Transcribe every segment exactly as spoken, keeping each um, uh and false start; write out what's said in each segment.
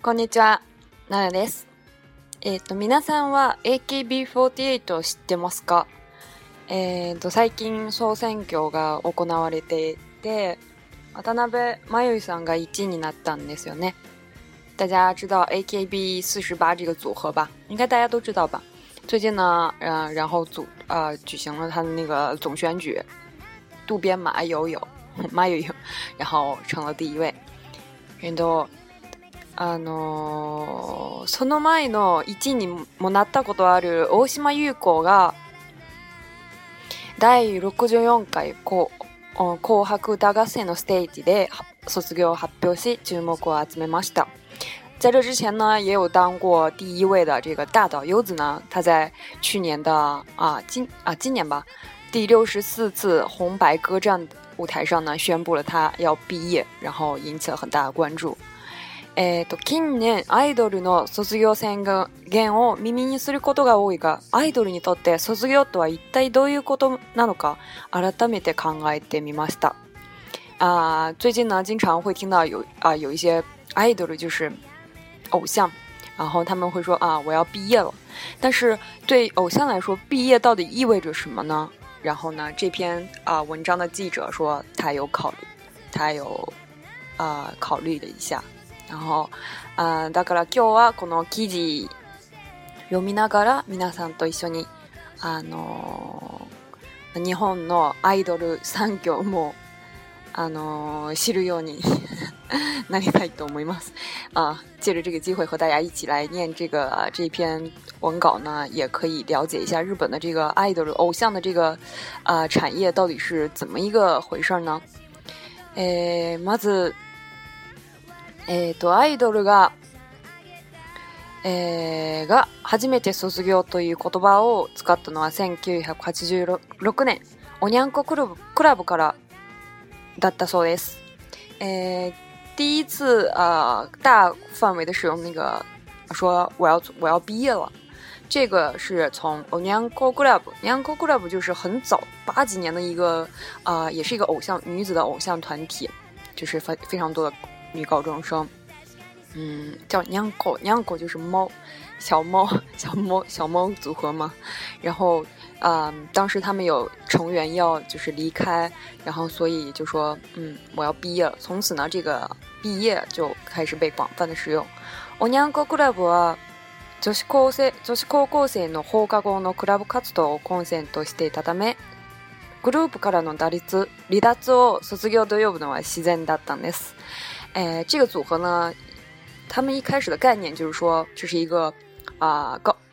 こんにちは、ななです。えっ、ー、と、皆さんは エーケービーフォーティーエイト を知ってますか？えっ、ー、と、最近総選挙が行われていて、渡辺真由さんがいちいになったんですよね。大家知道 エーケービーフォーティーエイト 这个组合吧？应该大家都知道吧？最近呢，呃，然后组呃举行了他的那个总选举，渡边麻友友，麻友友，然后成了第一位。えっと、あのー、その前のいちいにもなったことある大島優子がだいろくじゅうよんかい紅白歌合戦のステージで卒業を発表し注目を集めました。在这之前呢，也有当过第一位的这个大岛优子呢，她在去年的啊今啊今年吧第六十四次红白歌战舞台上呢，宣布了她要毕业，然后引起了很大的关注。えーと、近年アイドルの卒業宣言を耳にすることが多いが、アイドルにとって卒業とは一体どういうことなのか改めて考えてみました。啊、最近呢，经常会听到有啊有一些 idol 就是偶像，然后他们会说啊我要毕业了，但是对偶像来说，毕业到底意味着什么呢？然后呢，这篇啊文章的记者说他有考虑，他有啊考虑了一下。然後あだから今日はこの記事読みながら皆さんと一緒にあの日本のアイドル産業もあの知るようになりたいと思います啊。借着这个机会和大家一起来念这个这篇文稿呢，也可以了解一下日本的这个アイドル偶像的这个啊产业到底是怎么一个回事呢？えまずえーと、アイドルが、えー、が初めて卒業という言葉を使ったのはせんきゅうひゃくはちじゅうろくねんおにゃんこクラブクラブからだったそうです。えー、第一次啊、呃、大范围的使用那个说我要我要毕业了，这个是从おにゃんこクラブ，おにゃんこクラブ就是很早八几年的一个啊、呃，也是一个偶像女子的偶像团体，就是非非常多的。女高中生，嗯，叫娘狗，娘狗就是猫，小猫，小猫，小猫组合嘛。然后，嗯，当时他们有成员要就是离开，然后所以就说，嗯，我要毕业了。从此呢，这个毕业就开始被广泛的使用。おにゃんこクラブは女子高生女子高校生の放課後のクラブ活動をコンセントしていたため、グループからの脱離離脱を卒業と呼ぶのは自然だったんです。哎，这个组合呢，他们一开始的概念就是说，这是一个啊、呃、高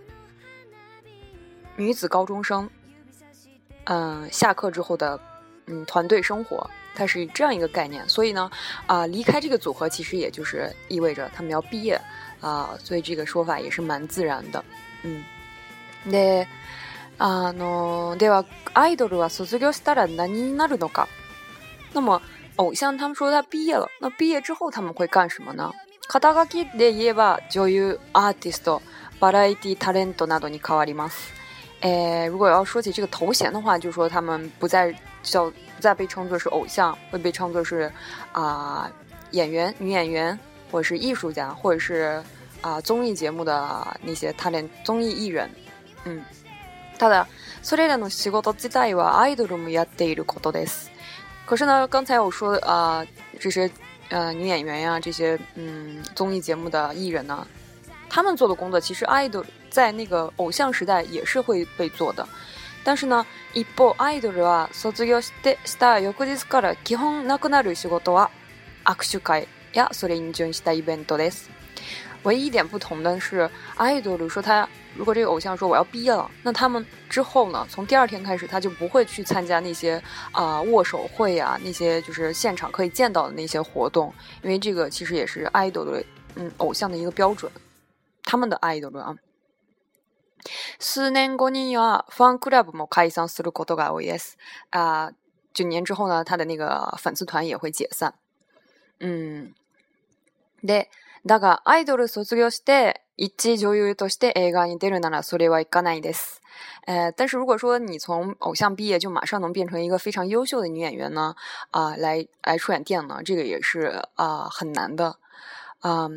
女子高中生，嗯、呃，下课之后的嗯团队生活，它是这样一个概念。所以呢，啊、呃，离开这个组合其实也就是意味着他们要毕业啊、呃，所以这个说法也是蛮自然的。嗯，で、あのではアイドルは卒業したら何になるのか？那么。偶像他们说他毕业了，那毕业之后他们会干什么呢？肩書きで言えば女優、アーティスト、バラエティタレントなどに変わります。诶，如果要说起这个头衔的话，就说他们不再叫不再被称作是偶像，会被称作是啊、呃、演员、女演员，或者是艺术家，或者是啊、呃、综艺节目的那些タレント综艺艺人。嗯，ただそれらの仕事自体はアイドルもやっていることです。可是呢，刚才我说啊、呃，这些呃女演员呀，这些嗯综艺节目的艺人呢，他们做的工作其实 idol 在那个偶像时代也是会被做的。但是呢，一方アイドルは卒業してした翌日から基本なくなる仕事は握手会やそれに準したイベントです。唯一一点不同的是，アイドル说他如果这个偶像说我要毕业了，那他们之后呢，从第二天开始他就不会去参加那些啊、呃、握手会啊，那些就是现场可以见到的那些活动，因为这个其实也是アイドル嗯偶像的一个标准，他们的アイドル啊。数年後にはファンクラブも解散することが多いです。啊、呃，九年之后呢，他的那个粉丝团也会解散。嗯，で。だがアイドル卒業して一女優として映画に出るならそれはいかないです。呃，但是如果说你从偶像毕业就马上能变成一个非常优秀的女演员呢，啊、呃，来来出演电影呢，这个也是啊、呃、很难的。嗯、呃，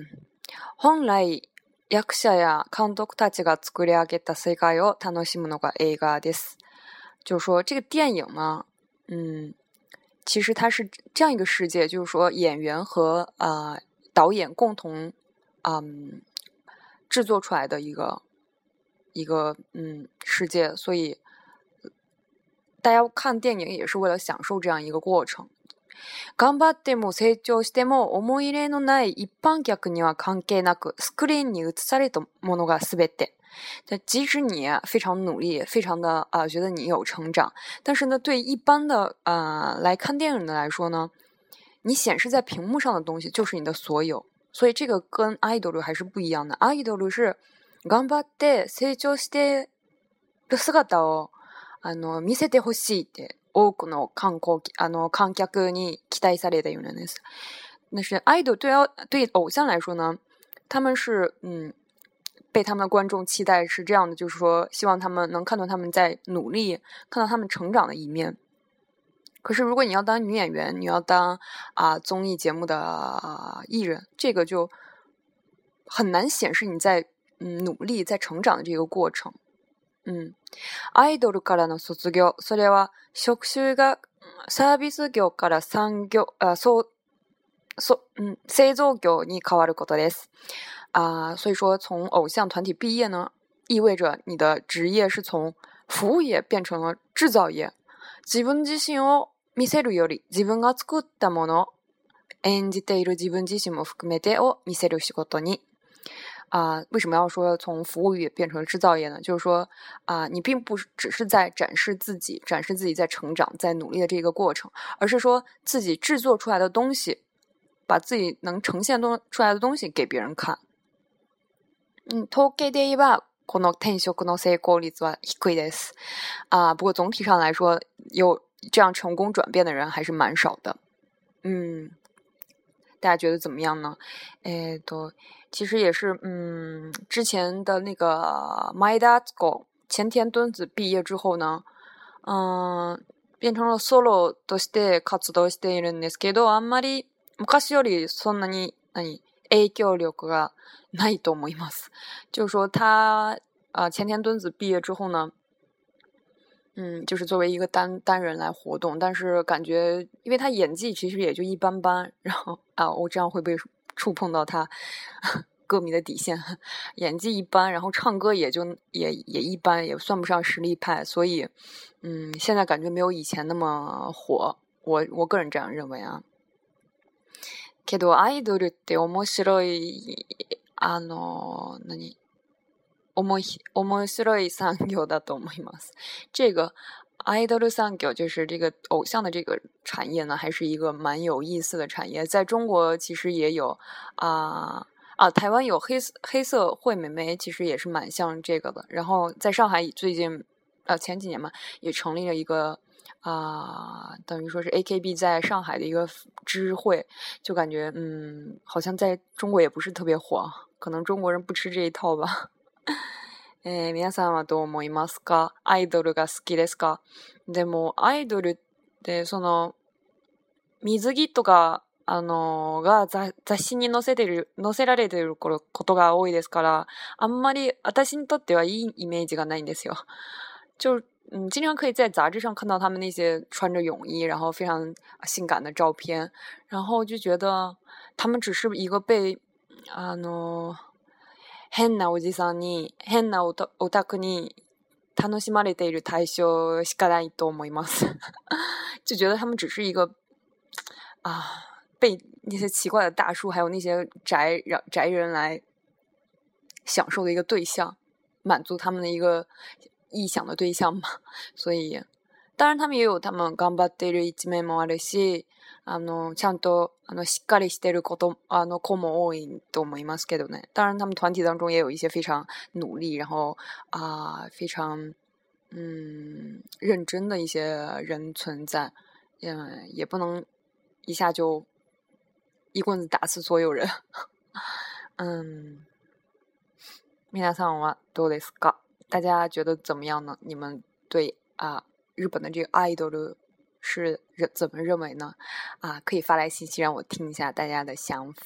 本来役者や監督たちが作り上げた世界を楽しむのが映画です。就是说这个电影呢，嗯，其实它是这样一个世界，就是说演员和呃导演共同嗯制作出来的一个一个嗯世界，所以大家看电影也是为了享受这样一个过程。頑張っても成長しても思い入れのない一般客には関係なく、スクリーンに映されたものが全て。即使你非常努力，非常的啊、呃，觉得你有成长，但是呢，对一般的啊、呃、来看电影的来说呢，你显示在屏幕上的东西就是你的所有。所以这个跟アイドル还是不一样的。アイドル是頑張って成長してる姿をあの見せてほしいって多くの観光あの観客に期待されているんです。但是アイドル对对偶像来说呢，他们是嗯被他们的观众期待是这样的，就是说希望他们能看到他们在努力，看到他们成长的一面。可是如果你要当女演员，你要当啊、呃、综艺节目的、呃、艺人，这个就很难显示你在嗯努力在成長的这个过程。うんアイドルからの卒業、それは職種がサービス業から産業、あそうそ嗯製造業に変わることです。啊、呃，所以说从偶像团体毕业呢，意味着你的职业是从服务业变成了制造业。自分自身を見せるより自分が作ったもの、演じている自分自身も含めてを見せる仕事に。啊、呃，为什么要说从服务业变成制造业呢？就是说啊、呃，你并不只是在展示自己，展示自己在成長、在努力的这个过程，而是说自己制作出来的东西，把自己能呈现出来的东西给别人看。嗯，統計で言えばこの転職の成功率は低いです。啊、呃，不过总体上来说，有这样成功转变的人还是蛮少的。嗯，大家觉得怎么样呢？えっと。其实也是，嗯，之前的那个前田敦子前田敦子毕业之后呢，嗯，变成了 solo として活動しているんですけど、あんまり昔よりそんなに何影響力がないと思います。就是说他啊、呃，前田敦子毕业之后呢，嗯，就是作为一个单单人来活动，但是感觉因为他演技其实也就一般般，然后啊，我这样会不会触碰到他歌迷的底线？演技一般，然后唱歌也就也也一般，也算不上实力派，所以嗯，现在感觉没有以前那么火，我我个人这样认为啊。けどアイドルって面白いあの何面面白い産業だと思います。这个アイドル産業就是这个偶像的这个产业呢，还是一个蛮有意思的产业。在中国其实也有啊啊，台湾有黑黑色惠美眉，其实也是蛮像这个的。然后在上海最近呃前几年嘛，也成立了一个啊、呃，等于说是 A K B 在上海的一个支会，就感觉嗯，好像在中国也不是特别火，可能中国人不吃这一套吧。えー、皆さんはどう思いますか？アイドルが好きですか？でもアイドルってその水着とかあのが雑誌に載せてる載せられてることが多いですから、あんまり私にとってはいいイメージがないんですよ。就嗯，经常可以在杂志上看到他们那些穿着泳衣，然后非常性感的照片，然后就觉得他们只是一个被あの変なおじさんに変なオタクに楽しまれている対象しかないと思います就觉得他们只是一个啊被那些奇怪的大叔还有那些宅宅人来享受的一个对象，满足他们的一个臆想的对象嘛。所以当然他们也有他们頑張っている一面もあるし、あのちゃんとあのしっかりしてることあの子も多いと思いますけどね。当然他们团体当中也有一些非常努力，然后啊、呃、非常嗯认真的一些人存在，嗯，也不能一下就一棍子打死所有人。嗯，皆さんはどうですか？大家觉得怎么样呢？你们对啊日本的这个アイドル是怎么认为呢？啊，可以发来信息让我听一下大家的想法。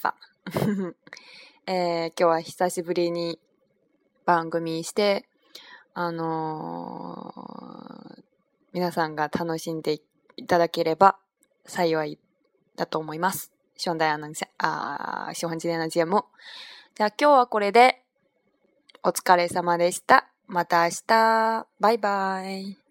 えー、今日は久しぶりに番組して、あのー、皆さんが楽しんでいただければ幸いだと思います。希望大家能あ喜欢今天的节目。じゃあ今日はこれでお疲れ様でした。また明日。バイバイ。